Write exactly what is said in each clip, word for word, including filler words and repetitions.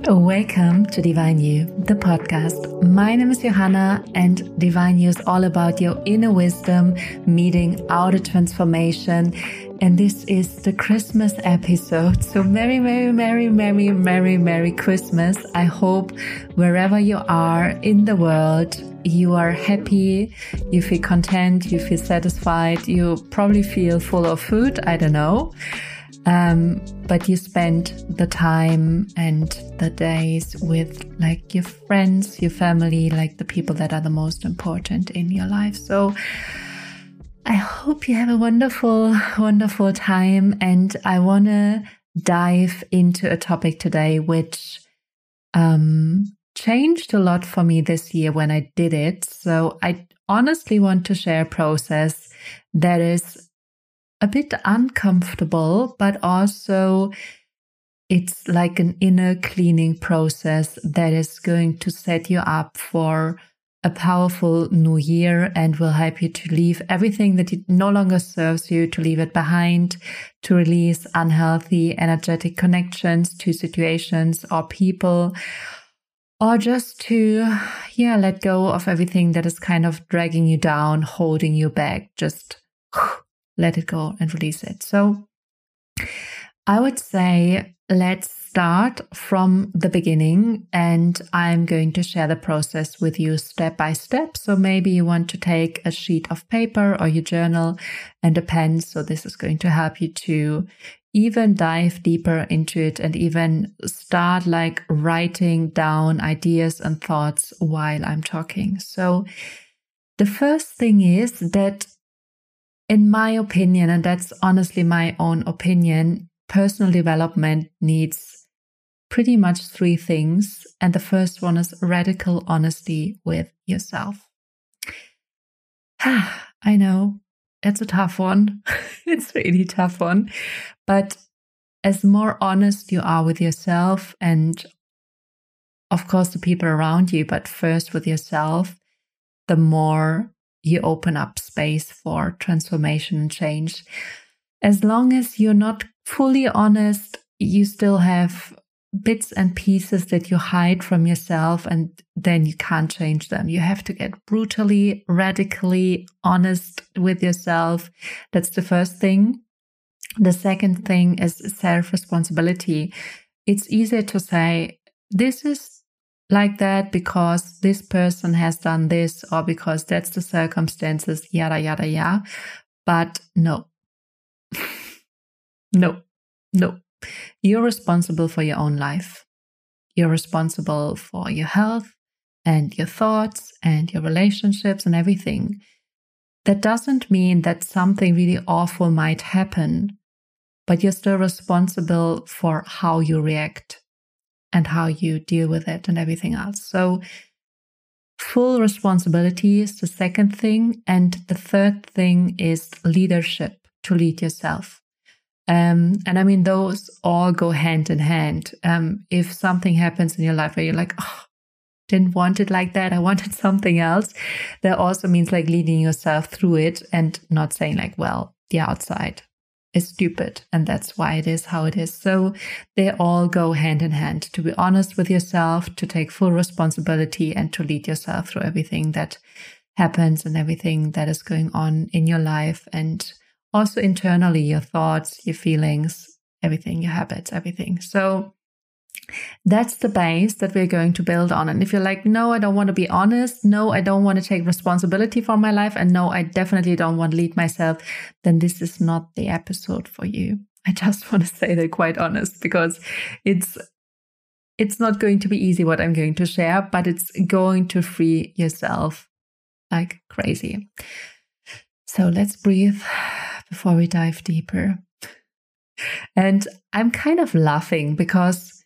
Welcome to Divine You, the podcast. My name is Johanna, and Divine You is all about your inner wisdom meeting outer transformation. And this is the Christmas episode. So Merry, Merry, Merry, Merry, Merry, Merry Christmas. I hope wherever you are in the world, you are happy, you feel content, you feel satisfied, you probably feel full of food, I don't know. Um, but you spend the time and the days with like your friends, your family, like the people that are the most important in your life. So I hope you have a wonderful, wonderful time. And I want to dive into a topic today, which um, changed a lot for me this year when I did it. So I honestly want to share a process that is a bit uncomfortable, but also it's like an inner cleaning process that is going to set you up for a powerful new year and will help you to leave everything that no longer serves you, to leave it behind, to release unhealthy, energetic connections to situations or people, or just to, yeah, let go of everything that is kind of dragging you down, holding you back. Just let it go and release it. So I would say let's start from the beginning, and I'm going to share the process with you step by step. So maybe you want to take a sheet of paper or your journal and a pen. So this is going to help you to even dive deeper into it and even start like writing down ideas and thoughts while I'm talking. So the first thing is that, in my opinion, and that's honestly my own opinion, personal development needs pretty much three things. And the first one is radical honesty with yourself. I know, it's a tough one. It's a really tough one. But as more honest you are with yourself and, of course, the people around you, but first with yourself, the more you open up space for transformation and change. As long as you're not fully honest, you still have bits and pieces that you hide from yourself, and then you can't change them. You have to get brutally, radically honest with yourself. That's the first thing. The second thing is self-responsibility. It's easier to say, this is like that because this person has done this, or because that's the circumstances, yada, yada, yada. But no, no, no. You're responsible for your own life. You're responsible for your health and your thoughts and your relationships and everything. That doesn't mean that something really awful might happen, but you're still responsible for how you react and how you deal with it and everything else. So full responsibility is the second thing. And the third thing is leadership, to lead yourself. Um, and I mean, those all go hand in hand. Um, if something happens in your life where you're like, oh, didn't want it like that, I wanted something else, that also means like leading yourself through it and not saying like, well, the outside is stupid and that's why it is how it is. So they all go hand in hand, to be honest with yourself, to take full responsibility, and to lead yourself through everything that happens and everything that is going on in your life, and also internally, your thoughts, your feelings, everything, your habits, everything. So that's the base that we're going to build on. And if you're like, no, I don't want to be honest, no, I don't want to take responsibility for my life, and no, I definitely don't want to lead myself, then this is not the episode for you. I just want to say that quite honest, because it's it's not going to be easy what I'm going to share, but it's going to free yourself like crazy. So let's breathe before we dive deeper. And I'm kind of laughing because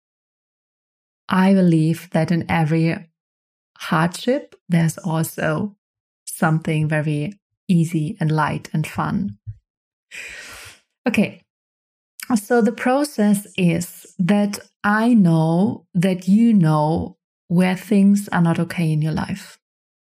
I believe that in every hardship, there's also something very easy and light and fun. Okay, so the process is that I know that you know where things are not okay in your life.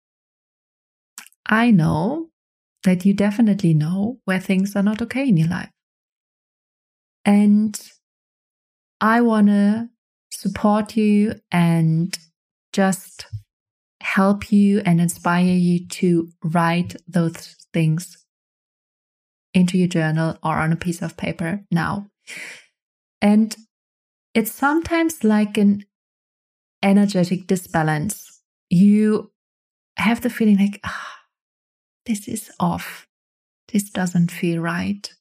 I know that you definitely know where things are not okay in your life. And I want to support you and just help you and inspire you to write those things into your journal or on a piece of paper now. And it's sometimes like an energetic disbalance. You have the feeling like, ah, this is off. This doesn't feel right.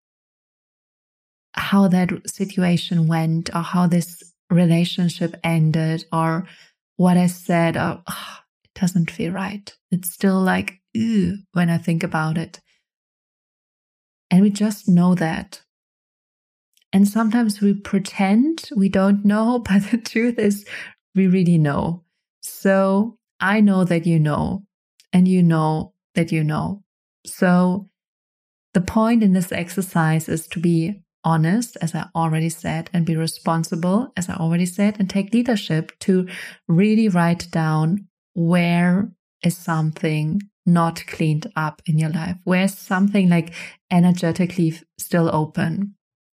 How that situation went, or how this relationship ended, or what I said, or oh, it doesn't feel right. It's still like, ew, when I think about it. And we just know that. And sometimes we pretend we don't know, but the truth is we really know. So I know that you know, and you know that you know. So the point in this exercise is to be honest, as I already said, and be responsible, as I already said, and take leadership to really write down where is something not cleaned up in your life, where's something like energetically still open.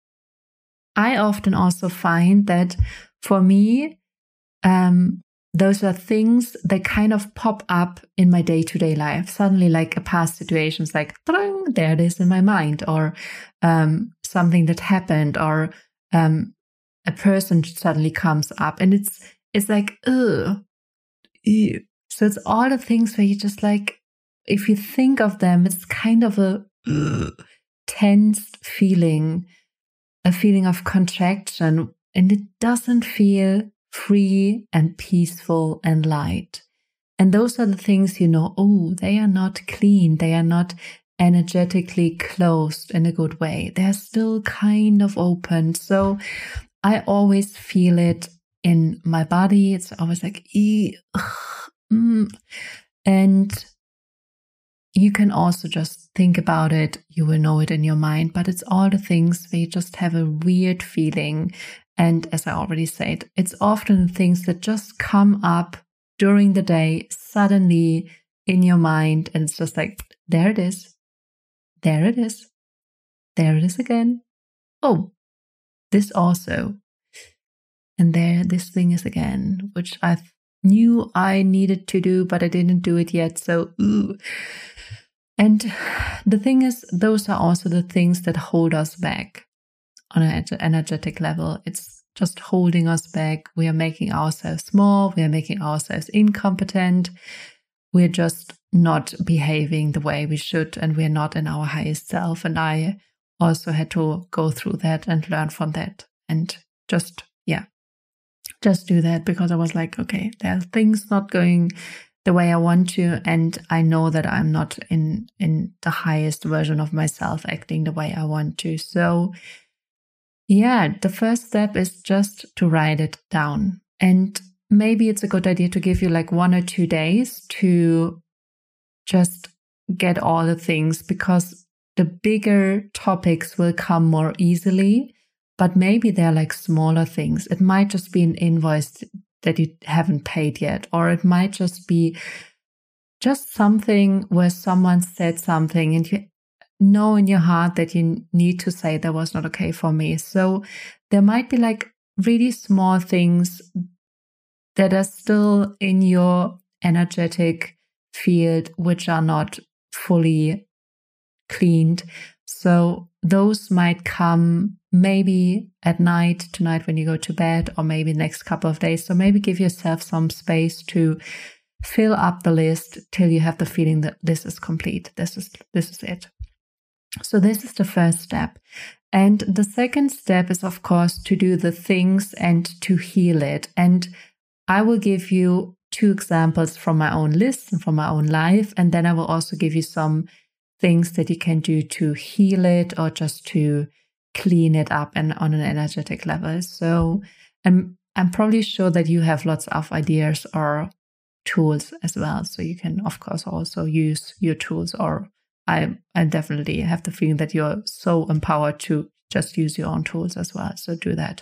I often also find that for me, um, those are things that kind of pop up in my day-to-day life. Suddenly, like a past situation's like, there it is in my mind, or um, something that happened, or um, a person suddenly comes up, and it's it's like, ugh, ew. So it's all the things where you just like, if you think of them, it's kind of a ugh, tense feeling, a feeling of contraction, and it doesn't feel free and peaceful and light. And those are the things, you know, oh, they are not clean. They are not energetically closed in a good way. They're still kind of open. So I always feel it in my body. It's always like, ee, ugh, mm. And you can also just think about it. You will know it in your mind, but it's all the things where you just have a weird feeling. And as I already said, it's often things that just come up during the day, suddenly in your mind. And it's just like, there it is. There it is. There it is again. Oh, this also. And there, this thing is again, which I knew I needed to do, but I didn't do it yet. So, ooh. And the thing is, those are also the things that hold us back on an energetic level. It's just holding us back. We are making ourselves small. We are making ourselves incompetent. We're just not behaving the way we should, and we're not in our highest self. And I also had to go through that and learn from that, and just, yeah, just do that, because I was like, okay, there are things not going the way I want to, and I know that I'm not in, in the highest version of myself acting the way I want to. So yeah, the first step is just to write it down. And maybe it's a good idea to give you like one or two days to just get all the things, because the bigger topics will come more easily, but maybe they're like smaller things. It might just be an invoice that you haven't paid yet, or it might just be just something where someone said something and you know in your heart that you need to say that was not okay for me. So there might be like really small things that are still in your energetic field, which are not fully cleaned. So those might come maybe at night, tonight when you go to bed, or maybe next couple of days. So maybe give yourself some space to fill up the list till you have the feeling that this is complete. This is, this is it. So this is the first step. And the second step is, of course, to do the things and to heal it. And I will give you two examples from my own list and from my own life. And then I will also give you some things that you can do to heal it, or just to clean it up and on an energetic level. So I'm, I'm probably sure that you have lots of ideas or tools as well. So you can, of course, also use your tools, or I, I definitely have the feeling that you're so empowered to just use your own tools as well. So do that.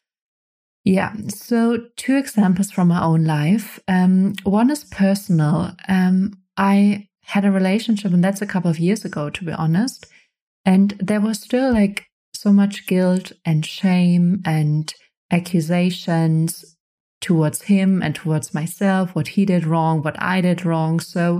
Yeah. So two examples from my own life. Um, one is personal. Um, I had a relationship, and that's a couple of years ago, to be honest. And there was still like so much guilt and shame and accusations towards him and towards myself, what he did wrong, what I did wrong. So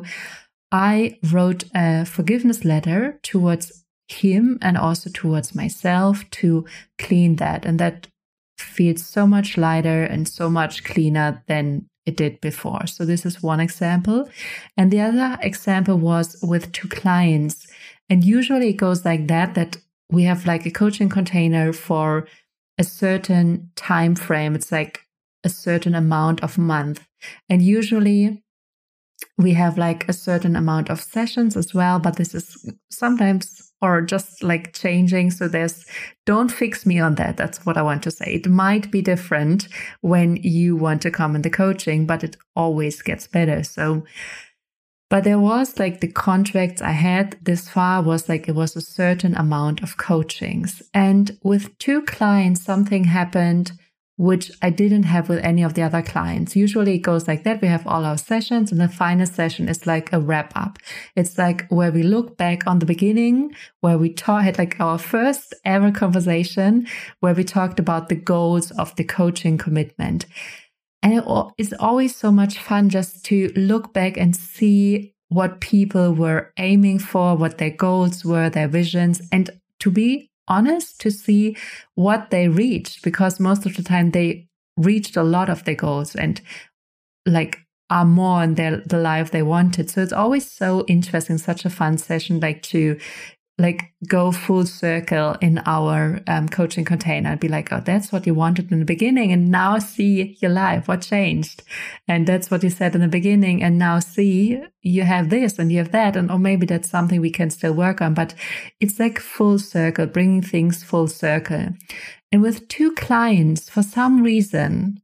I wrote a forgiveness letter towards him and also towards myself to clean that. And that feels so much lighter and so much cleaner than it did before. So this is one example. And the other example was with two clients. And usually it goes like that, that we have like a coaching container for a certain time frame. It's like a certain amount of month. And usually we have like a certain amount of sessions as well, but this is sometimes or just like changing. So there's, don't fix me on that. That's what I want to say. It might be different when you want to come in the coaching, but it always gets better. So, but there was like the contracts I had this far was like, it was a certain amount of coachings. And with two clients, something happened which I didn't have with any of the other clients. Usually it goes like that. We have all our sessions and the final session is like a wrap up. It's like where we look back on the beginning, where we talk, had like our first ever conversation where we talked about the goals of the coaching commitment. And it, it's always so much fun just to look back and see what people were aiming for, what their goals were, their visions, and to be honest, to see what they reached, because most of the time they reached a lot of their goals and like are more in their the life they wanted. So it's always so interesting, such a fun session, like to like go full circle in our um, coaching container and be like, oh, that's what you wanted in the beginning. And now see your life, what changed. And that's what you said in the beginning. And now see, you have this and you have that. And or maybe that's something we can still work on. But it's like full circle, bringing things full circle. And with two clients, for some reason,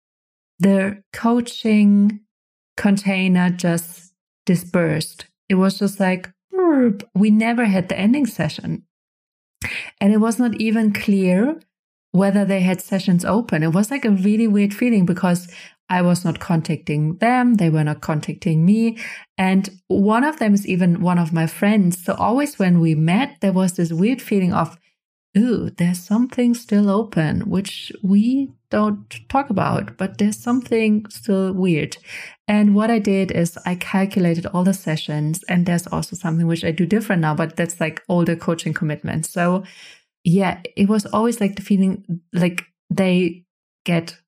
the coaching container just dispersed. It was just like, we never had the ending session. And it was not even clear whether they had sessions open. It was like a really weird feeling because I was not contacting them. They were not contacting me. And one of them is even one of my friends. So always when we met, there was this weird feeling of, ooh, there's something still open, which we don't talk about, but there's something still weird. And what I did is I calculated all the sessions, and there's also something which I do different now, but that's like older coaching commitments. So yeah, it was always like the feeling like they get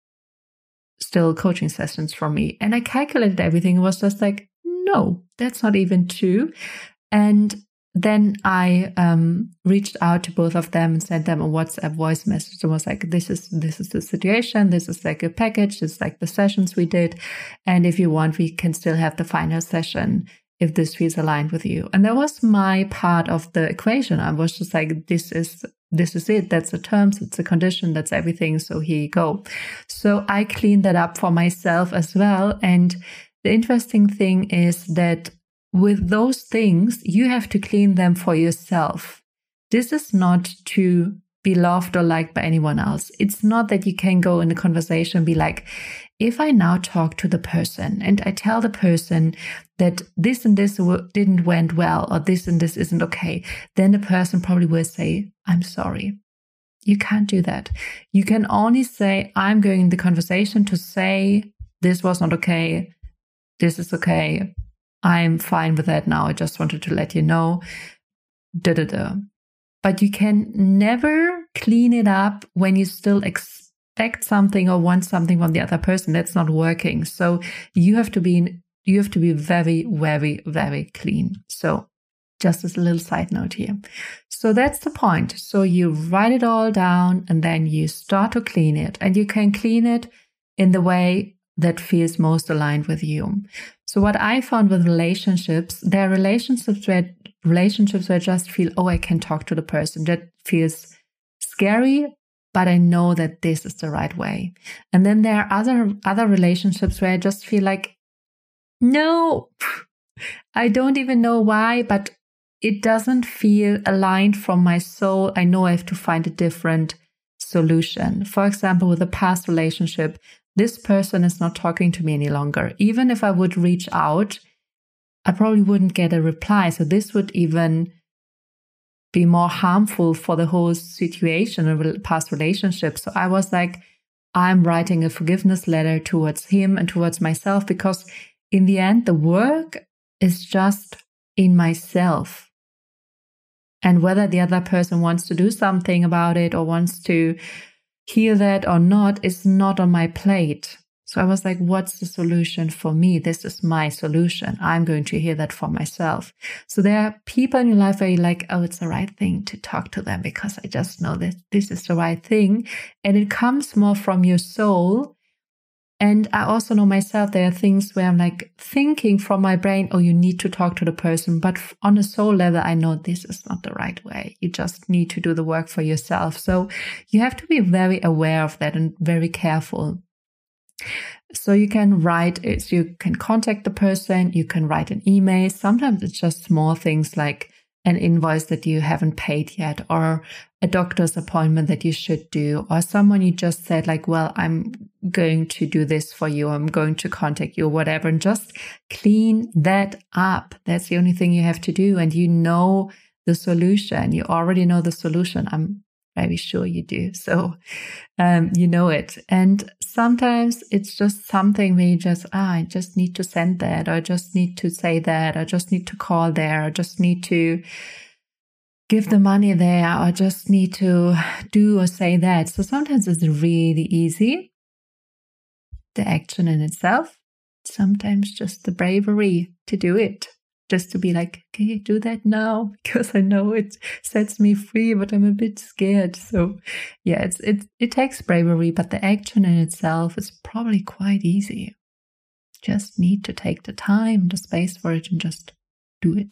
still coaching sessions from me. And I calculated everything. It was just like, no, that's not even true. And then I um, reached out to both of them and sent them a WhatsApp voice message and was like, this is this is the situation. This is like a package. This is like the sessions we did. And if you want, we can still have the final session if this feels aligned with you. And that was my part of the equation. I was just like, this is this is it. That's the terms. It's the condition. That's everything. So here you go. So I cleaned that up for myself as well. And the interesting thing is that with those things, you have to clean them for yourself. This is not to be loved or liked by anyone else. It's not that you can go in a conversation and be like, if I now talk to the person and I tell the person that this and this didn't went well or this and this isn't okay, then the person probably will say, I'm sorry. You can't do that. You can only say, I'm going in the conversation to say, this was not okay. This is okay. I'm fine with that now. I just wanted to let you know. Da, da, da. But you can never clean it up when you still expect something or want something from the other person. That's not working. So you have to be, you have to be very, very, very clean. So just as a little side note here. So that's the point. So you write it all down and then you start to clean it, and you can clean it in the way that feels most aligned with you. So what I found with relationships, there are relationships where relationships where I just feel, oh, I can talk to the person. That feels scary, but I know that this is the right way. And then there are other other relationships where I just feel like, no, I don't even know why, but it doesn't feel aligned from my soul. I know I have to find a different solution. For example, with a past relationship, this person is not talking to me any longer. Even if I would reach out, I probably wouldn't get a reply. So this would even be more harmful for the whole situation of past relationships. So I was like, I'm writing a forgiveness letter towards him and towards myself, because in the end, the work is just in myself. And whether the other person wants to do something about it or wants to heal that or not is not on my plate. So I was like, what's the solution for me? This is my solution. I'm going to hear that for myself. So there are people in your life where you're like, oh, it's the right thing to talk to them because I just know that this is the right thing. And it comes more from your soul. And I also know myself, there are things where I'm like thinking from my brain, oh, you need to talk to the person. But on a soul level, I know this is not the right way. You just need to do the work for yourself. So you have to be very aware of that and very careful. So you can write it, you can contact the person, you can write an email. Sometimes it's just small things like an invoice that you haven't paid yet, or a doctor's appointment that you should do, or someone you just said like, well, I'm going to do this for you, I'm going to contact you, or whatever, and just clean that up. That's the only thing you have to do. And you know the solution. You already know the solution. I'm very sure you do. So um, you know it. And sometimes it's just something where you just, ah, I just need to send that, or I just need to say that, or I just need to call there, or just need to give the money there, or just need to do or say that. So sometimes it's really easy, the action in itself. Sometimes just the bravery to do it. Just to be like, can you do that now? Because I know it sets me free, but I'm a bit scared. So yeah, it's, it, it takes bravery, but the action in itself is probably quite easy. Just need to take the time, the space for it, and just do it.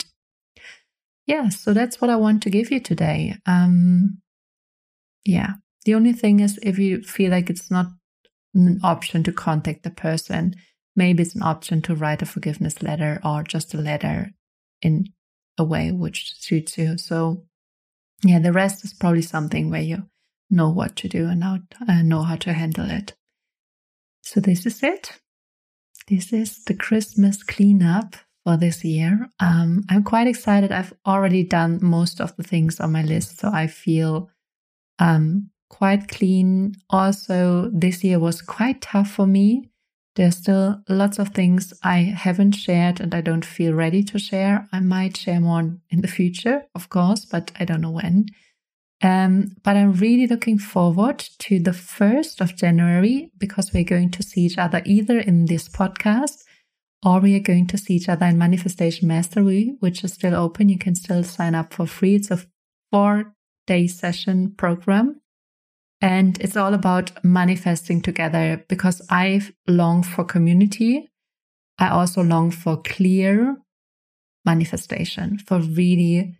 Yeah, so that's what I want to give you today. Um, yeah, the only thing is if you feel like it's not an option to contact the person, maybe it's an option to write a forgiveness letter or just a letter in a way which suits you. So yeah, the rest is probably something where you know what to do and how, uh, know how to handle it. So this is it. This is the Christmas cleanup for this year. Um, I'm quite excited. I've already done most of the things on my list, so I feel um, quite clean. Also, this year was quite tough for me. There's still lots of things I haven't shared and I don't feel ready to share. I might share more in the future, of course, but I don't know when. Um, but I'm really looking forward to the first of January, because we're going to see each other either in this podcast or we are going to see each other in Manifestation Mastery, which is still open. You can still sign up for free. It's a four-day session program. And it's all about manifesting together, because I long for community. I also long for clear manifestation, for really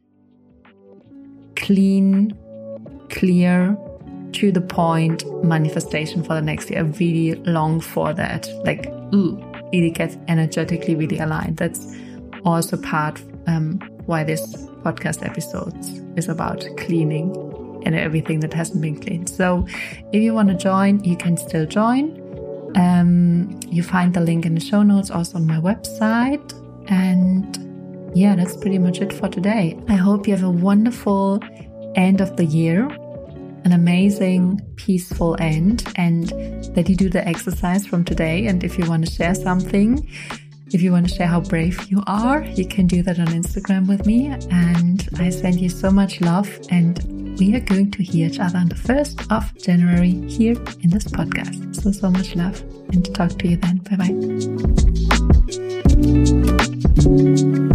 clean, clear, to the point manifestation for the next year. I really long for that. Like, ooh, really get energetically really aligned. That's also part um, why this podcast episode is about cleaning and everything that hasn't been cleaned. So if you want to join, you can still join. Um, you find the link in the show notes, also on my website. And yeah, that's pretty much it for today. I hope you have a wonderful end of the year, an amazing, peaceful end, and that you do the exercise from today. And if you want to share something, if you want to share how brave you are, you can do that on Instagram with me. And I send you so much love, and we are going to hear each other on the first of January here in this podcast. So, so much love, and talk to you then. Bye-bye.